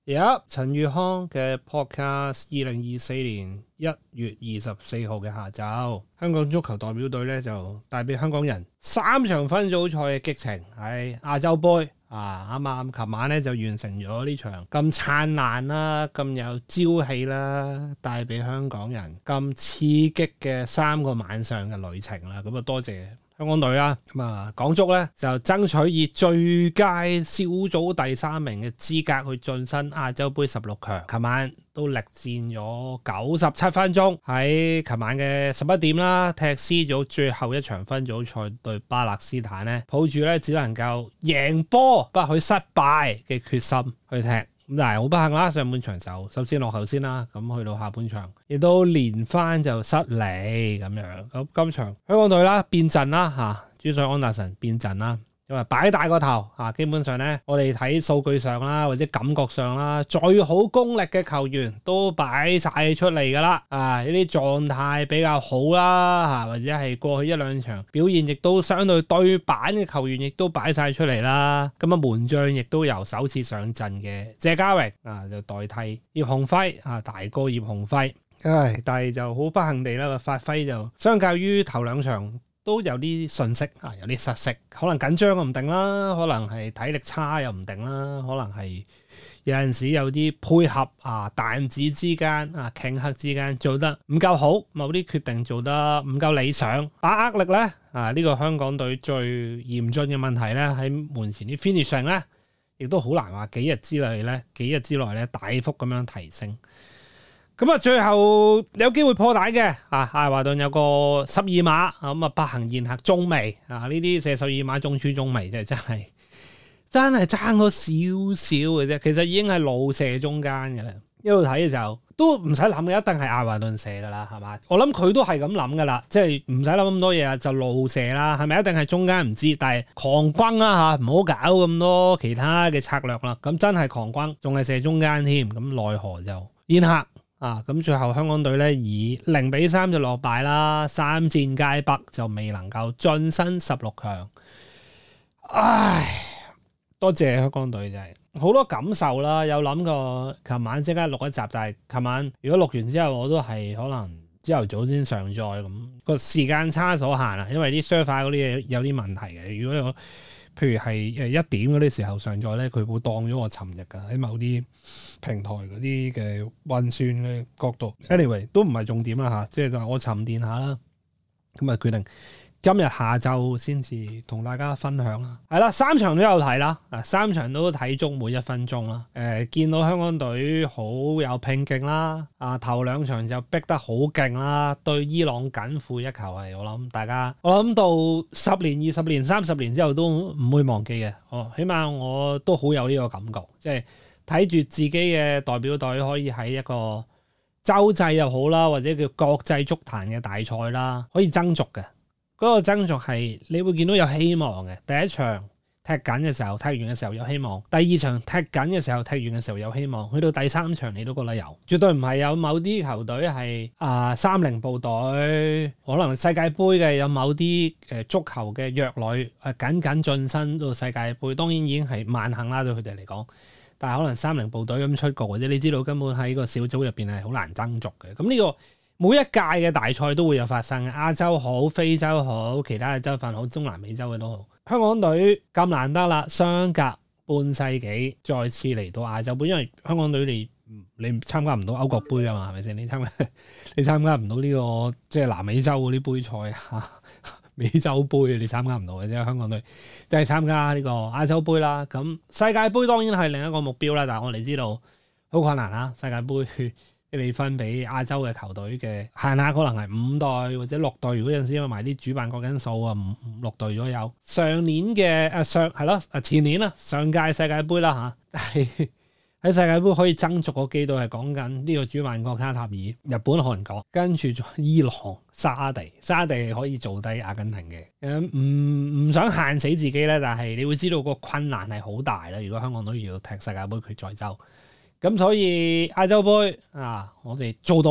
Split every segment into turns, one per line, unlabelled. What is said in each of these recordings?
有陳宇康嘅 podcast， 2024年1月24號嘅下晝，香港足球代表隊咧就帶俾香港人3場分組賽嘅激情，喺亞洲盃啱啱琴晚咧就完成咗呢場咁燦爛啦、咁有朝氣啦，帶俾香港人咁刺激嘅3個晚上嘅旅程啦。咁啊，多謝香港隊啦，咁啊港足咧就爭取以最佳小組第3名嘅資格去晉身亞洲盃16強。琴晚都力戰咗97分鐘，喺琴晚嘅11點啦，踢 C 組最後一場分組賽對巴勒斯坦咧，抱住咧只能夠贏波不許失敗嘅決心去踢。咁但係好不幸啦，上半場就首先落後先啦，咁去到下半場亦都連番就失利咁樣。咁今場香港隊啦變陣啦主帥安達臣變陣啦，因為擺大個頭基本上咧我哋睇數據上啦或者感覺上啦，最好功力嘅球員都擺晒出嚟噶啦，呢啲狀態比較好啦或者係過去一兩場表現亦都相對對版嘅球員亦都擺晒出嚟啦。咁門將亦都由首次上陣嘅謝家榮就代替葉鴻輝大哥葉鴻輝，但係就好不幸地啦，個發揮就相較於頭兩場都有啲遜色有啲失色，可能緊張又唔定啦，可能係體力差又唔定啦，可能係有陣時有啲配合彈指之間頃刻之間做得唔夠好，某啲決定做得唔夠理想，把握力咧呢個香港隊最嚴峻嘅問題咧喺門前啲 finishing 咧，亦都好難話幾日之內咧大幅咁樣提升。咁最後有機會破蛋嘅艾華頓有個12碼咁不幸宴客中楣呢啲射12碼中柱中楣真係爭咗少少嘅啫，其實已經係路射中間嘅啦。一路睇嘅時候都唔使諗嘅，一定係艾華頓射噶啦，係嘛？我諗佢都係咁諗噶啦，即係唔使諗咁多嘢啊，就路射啦，係咪一定係中間唔知，但係狂轟啦唔好搞咁多其他嘅策略啦。咁真係狂轟，仲係射中間添，咁奈何就宴客。咁最後香港隊咧以0-3就落敗啦，3戰皆北就未能夠晉身16強。唉，多謝香港隊真係好多感受啦，有諗過琴晚即刻錄一集，但係琴晚如果錄完之後我都係可能朝頭早先上載，咁個時間差所限因為啲 server 嗰啲嘢有啲問題嘅。如果我譬如係1點嗰啲時候上載咧，佢會當咗我尋日噶，喺某啲平台嗰啲嘅運算嘅角度。anyway 都唔係重點啦即係就我沉澱下啦，咁決定今日下晝先至同大家分享啦。係啦，3場都有睇啦，3場都睇足每1分鐘啦。見到香港隊好有拼勁啦，頭2場就逼得好勁啦，對伊朗緊負1球係我諗到10年、20年、30年之後都唔會忘記嘅。起碼我都好有呢個感覺，即係睇住自己嘅代表隊可以喺一個洲際又好啦，或者叫國際足壇嘅大賽啦，可以爭逐嘅。嗰個爭逐係你會見到有希望嘅。第一場踢緊嘅時候，踢完嘅時候有希望；第2場踢緊嘅時候，踢完嘅時候有希望。去到第3場你都覺得有，絕對唔係有某啲球隊係30部隊，可能世界盃嘅有某啲足球嘅弱旅僅僅晉身到世界盃，當然已經係萬幸啦對佢哋嚟講。但係可能30部隊咁出局，或者你知道根本喺個小組入邊係好難爭逐嘅。咁呢個每一屆嘅大賽都會有發生嘅，亞洲好、非洲好、其他嘅洲份好、中南美洲嘅都好。香港隊咁難得啦，相隔半世紀再次嚟到亞洲盃，因為香港隊你參加唔到歐國盃啊嘛，係咪先？你參加唔到呢個即係南美洲嗰啲杯賽美洲盃你參加唔到嘅啫。香港隊即係參加呢個亞洲盃啦。咁世界盃當然係另一個目標啦，但係我哋知道好困難啦，世界盃。你分俾亞洲嘅球隊嘅限額可能係5隊或者6隊，如果有陣時因為埋啲主辦國因素5、6隊左右。上年嘅前年啦，上屆世界盃啦喺世界盃可以爭逐個幾隊係講緊呢個主辦國卡塔爾、日本、韓國，跟住伊朗、沙地可以做低阿根廷嘅。唔想限死自己咧，但係你會知道個困難係好大啦。如果香港隊要踢世界盃決賽周。咁所以亞洲盃我哋做到啦，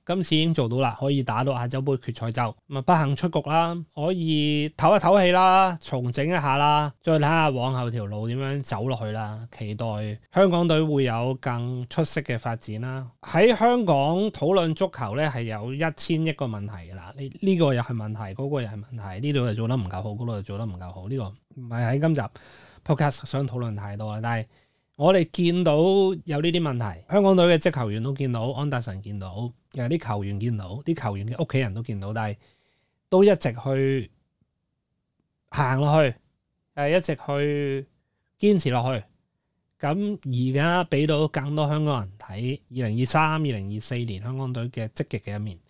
今次已經做到啦，可以打到亞洲盃決賽周，咁啊不幸出局啦，可以唞一唞氣啦，重整一下啦，再睇下往後條路點樣走落去啦。期待香港隊會有更出色嘅發展啦。喺香港討論足球咧係有1000億個問題㗎啦，呢個又係問題，嗰個又係問題，呢度又做得唔夠好，嗰度又做得唔夠好，呢個唔係喺今集 podcast 想討論太多啦，但係我哋見到有呢啲問題，香港隊嘅職球員都見到，安達臣見到，有啲球員見到，啲球員嘅屋企人都見到，但係都一直去行落去，一直去堅持落去。咁而家俾到更多香港人睇2023、2024年香港隊嘅積極嘅一面。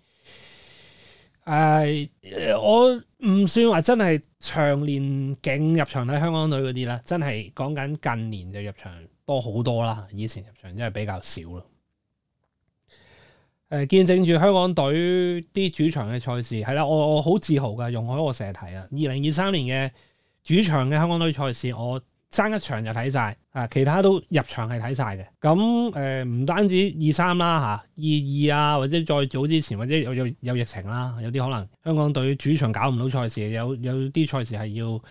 我唔算話真係長年勁入場睇香港隊嗰啲啦，真係講緊近年就入場多好多啦，以前入場真係比較少咯。見證住香港隊啲主場嘅賽事，係啦，我好自豪㗎，容許我成日睇啊。2023年嘅主場嘅香港隊賽事，我爭一場就睇晒，其他都入場係睇晒嘅。咁唔單止23啦嚇，22啊，或者再早之前，或者有疫情啦，有啲可能香港隊主場搞唔到賽事，有啲賽事係要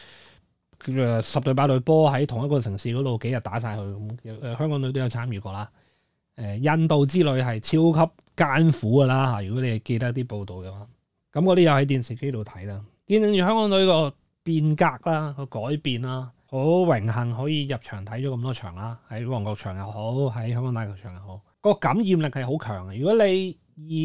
10隊8隊波喺同一個城市嗰度幾日打晒去。香港隊都有參與過啦。印度之旅係超級艱苦㗎啦嚇，如果你係記得啲報道嘅話，咁嗰啲又喺電視機度睇啦，見證住香港隊個變革啦，個改變啦。好榮幸可以入場睇咗咁多場啦，喺旺角場又好，喺香港大球場又好，個感染力係好強嘅。如果你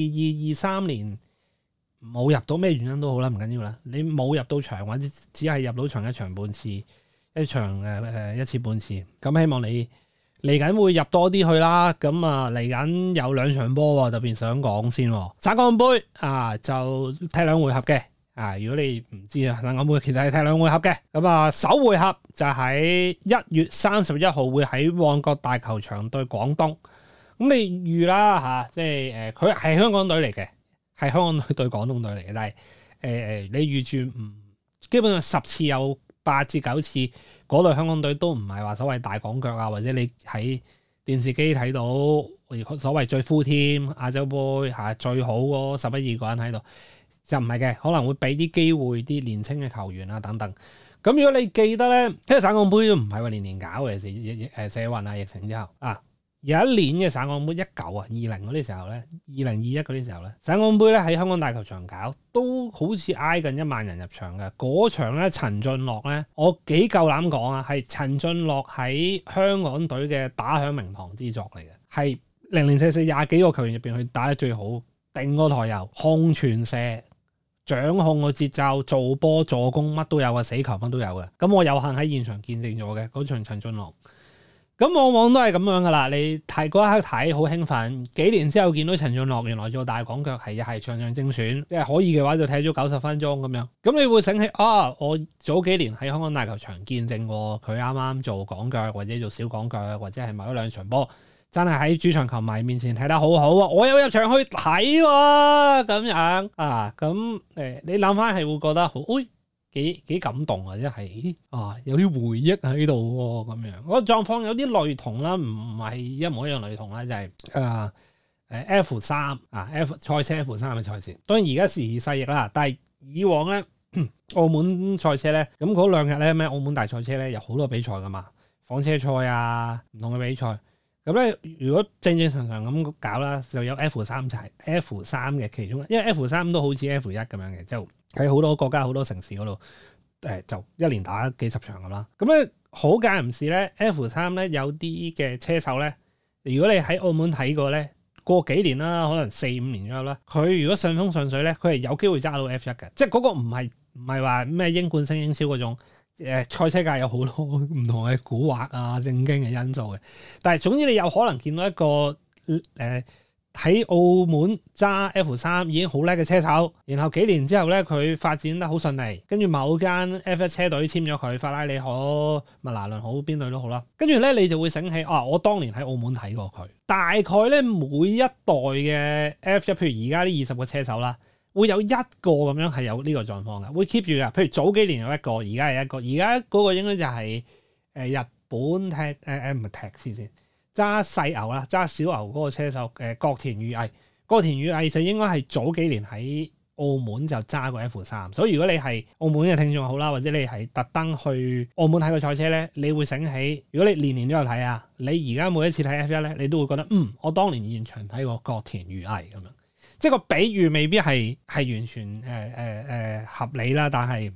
22、23年冇入到，咩原因都好啦，唔緊要啦。你冇入到場或者只係入到場一場半次，一場一次半次，咁希望你嚟緊會入多啲去啦。咁啊嚟緊有2場波，特別想講先。省港杯就踢2回合嘅。如果你唔知啊，省港杯其實係踢2回合嘅。咁啊，首回合就喺1月31號會喺旺角大球場對廣東。咁你預啦即係佢係香港隊嚟嘅，係香港隊對廣東隊嚟嘅。但係你預住基本上10次有8至9次嗰隊香港隊都唔係話所謂大港腳啊，或者你喺電視機睇到所謂最 full team 亞洲杯最好嗰11、12個人喺度。就唔係嘅，可能會俾啲機會啲年青嘅球員啊等等。咁如果你記得咧，因為省港杯都唔係話年年搞嘅，社運啊疫情之後有一年嘅省港杯20嗰啲時候咧，2021嗰啲時候咧，省港杯咧喺香港大球場搞，都好似挨近1萬人入場嘅。嗰場咧，陳俊樂咧，我幾夠膽講啊，係陳俊樂喺香港隊嘅打響名堂之作嚟嘅，係0044 20幾個球員入邊去打得最好，定個台游，控傳射。掌控個節奏、做波、助攻乜都有嘅，死球乜都有嘅。咁我有幸喺現場見證咗嘅嗰場陳俊樂。咁往往都係咁樣噶啦，你睇嗰一刻睇好興奮，幾年之後見到陳俊樂原來做大港腳係場場正選，即係可以嘅話就睇咗90分鐘咁樣。咁你會醒起我早幾年喺香港大球場見證過佢啱啱做港腳或者做小港腳，或者係某1-2場波。真係喺主場球迷面前睇得好好啊！我有入場去睇喎，咁樣咁你諗翻係會覺得好，幾感動啊！即係有啲回憶喺度喎，咁樣個狀況有啲類同啦，唔係一模一樣類同啦，就係F3 F 賽車 F3嘅賽事。當然而家時移世易啦，但係以往咧澳門賽車咧，咁嗰2日咧咩澳門大賽車咧有好多比賽噶嘛，房車賽唔同嘅比賽。咁咧，如果正常咁搞啦，就有 F3 就係 F3嘅其中，因為 F3都好似 F1 咁樣嘅，就喺好多國家好多城市嗰度，就一年打幾十場咁啦。咁咧好間唔時咧 F3 咧有啲嘅車手咧，如果你喺澳門睇過咧，過幾年啦，可能4-5年左右啦，佢如果順風順水咧，佢係有機會揸到 F1 嘅，即係嗰個唔係話咩英冠升英超嗰種。賽車界有好多唔同嘅蠱惑正經嘅因素嘅，但係總之你有可能見到一個喺澳門揸 F3 已經好叻嘅車手，然後幾年之後咧佢發展得好順利，跟住某間 F1 車隊簽咗佢，法拉利好、麥拿倫好，邊隊都好啦，跟住咧你就會醒起我當年喺澳門睇過佢，大概咧每一代嘅 F1，譬如而家呢20個車手啦。會有一個咁樣係有呢個狀況嘅，會 keep 住嘅。譬如早幾年有一個，而家係一個，而家嗰個應該就係日本唔係踢先揸細牛啦，揸小牛嗰個車手國田裕毅，嗰角田裕毅就應該係早幾年喺澳門就揸過 F3，所以如果你係澳門嘅聽眾好啦，或者你係特登去澳門睇個賽車咧，你會醒起，如果你年年都有睇啊，你而家每一次睇 F1咧，你都會覺得我當年現場睇過角田裕毅咁樣，即係個比喻未必係完全合理啦，但係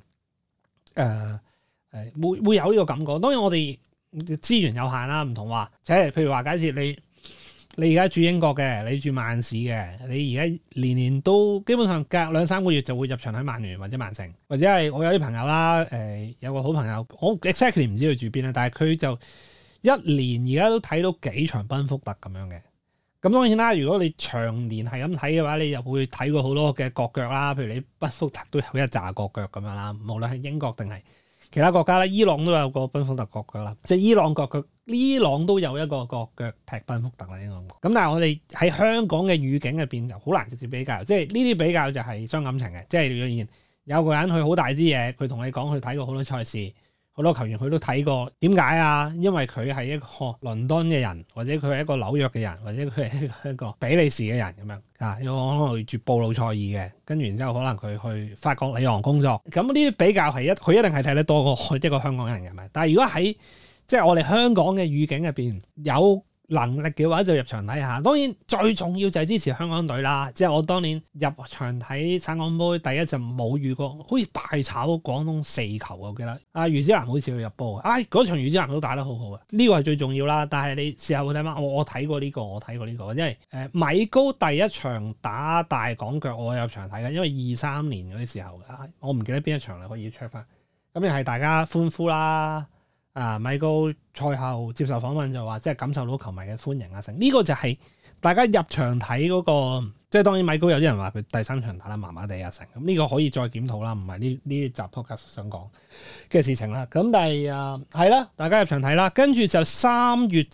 會有呢個感覺。當然我哋資源有限啦，唔同話，即係譬如話假設你而家住英國嘅，你住曼市嘅，你而家年年都基本上隔2-3個月就會入場睇曼聯或者曼城，或者係我有啲朋友啦，有個好朋友，我 exactly 唔知佢住邊啦，但係佢就一年而家都睇到幾場賓福特咁樣嘅。咁當然啦，如果你長年係咁睇嘅話，你又會睇過好多嘅國腳啦，譬如你賓福特都有一紮國腳咁樣啦，無論係英國定係其他國家咧，伊朗都有個賓福特國腳啦，即係伊朗都有一個國腳踢賓福特啦，應該咁。咁但係我哋喺香港嘅語境入邊就好難直接比較，即係呢啲比較就係傷感情嘅，即係若然有個人佢好大支嘢，佢同你講佢睇過好多賽事。好多球員佢都睇過，點解啊？因為佢係一個倫敦嘅人，或者佢係一個紐約嘅人，或者佢係一個比利時嘅人咁樣啊。有可能住布魯塞爾嘅，跟住然之後可能佢去法國里昂工作。咁呢啲比較係佢一定係睇得多過一個香港人嘅咪。但係如果喺即係我哋香港嘅語境入邊有能力嘅話就入場睇下，當然最重要就係支持香港隊啦。即係我當年入場睇省港杯第一就冇遇過，好似大炒廣東4球我記得。余子南好似去入波，嗰場余子南都打得好好啊，呢個係最重要啦。但係你事後睇翻，我睇過呢個，因為米高第一場打大港腳我入場睇嘅，因為23年嗰啲時候嘅，我唔記得邊一場啦，可以 check 翻。咁又係大家歡呼啦。米高賽後接受訪問就話，即係感受到球迷嘅歡迎啊！成呢個就係大家入場睇嗰個，即係當然米高有啲人話佢第3場打得麻麻地啊！成咁呢個可以再檢討啦，唔係呢集 podcast 想講嘅事情啦。咁但係係啦，大家入場睇啦，跟住就3月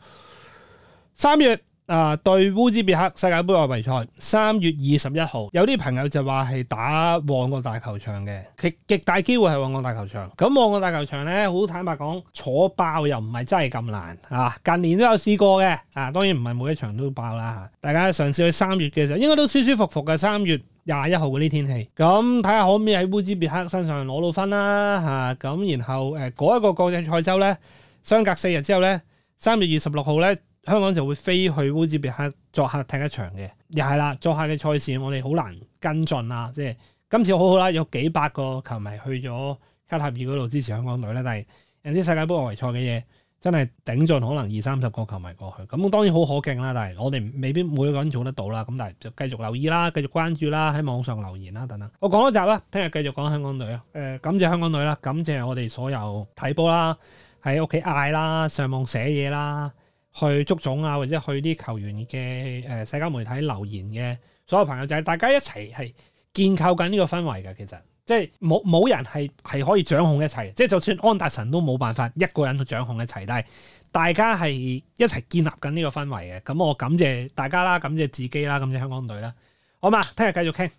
對烏茲別克世界盃外圍賽，3月21號，有啲朋友就話係打旺角大球場嘅，極大機會係旺角大球場。咁旺角大球場咧，好坦白講，坐爆又唔係真係咁難啊！近年都有試過嘅當然唔係每一場都爆啦。大家嘗試去3月嘅時候，應該都舒舒服服嘅。3月21號嗰啲天氣，咁睇下可唔可以喺烏茲別克身上攞到分啦咁然後嗰一個國際賽周咧，相隔4日之後咧，3月26號咧。香港就會飛去烏茲別克作客踢一場嘅，又係啦，作客嘅賽事我哋好難跟進啦。即係今次好好啦，有幾百個球迷去咗卡塔爾嗰度支持香港隊咧。但係人知世界盃外圍賽嘅嘢真係頂盡可能20-30個球迷過去，咁當然好可敬啦。但係我哋未必每個人做得到啦。咁但係就繼續留意啦，繼續關注啦，喺網上留言啦等等。我講多集啦，聽日繼續講香港隊啊。感謝香港隊啦，感謝我哋所有睇波啦，喺屋企嗌啦，上網寫嘢啦。去足總或者去啲球員嘅社交媒體留言嘅所有朋友，就係大家一齊係建構緊呢個氛圍嘅。其實即係冇人係可以掌控一切，即係就算安達臣都冇辦法一個人去掌控一切，但係大家係一齊建立緊呢個氛圍嘅。咁我感謝大家啦，感謝自己啦，感謝香港隊啦。好嘛，聽日繼續傾。